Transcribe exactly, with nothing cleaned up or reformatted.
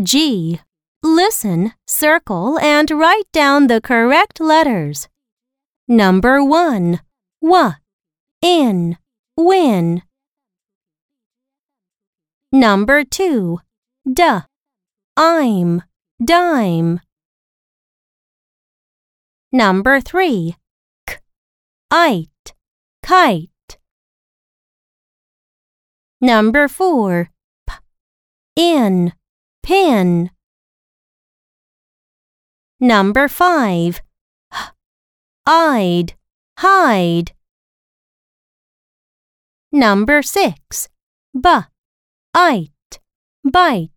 G. Listen, circle, and write down the correct letters. Number one. W. In. Win. Number two. D. I'm. Dime. Number three. K. Ite. Kite. Number four. P. In. Pin. Number five. H. I'd. Hide. Number six. B. Ite. Bite.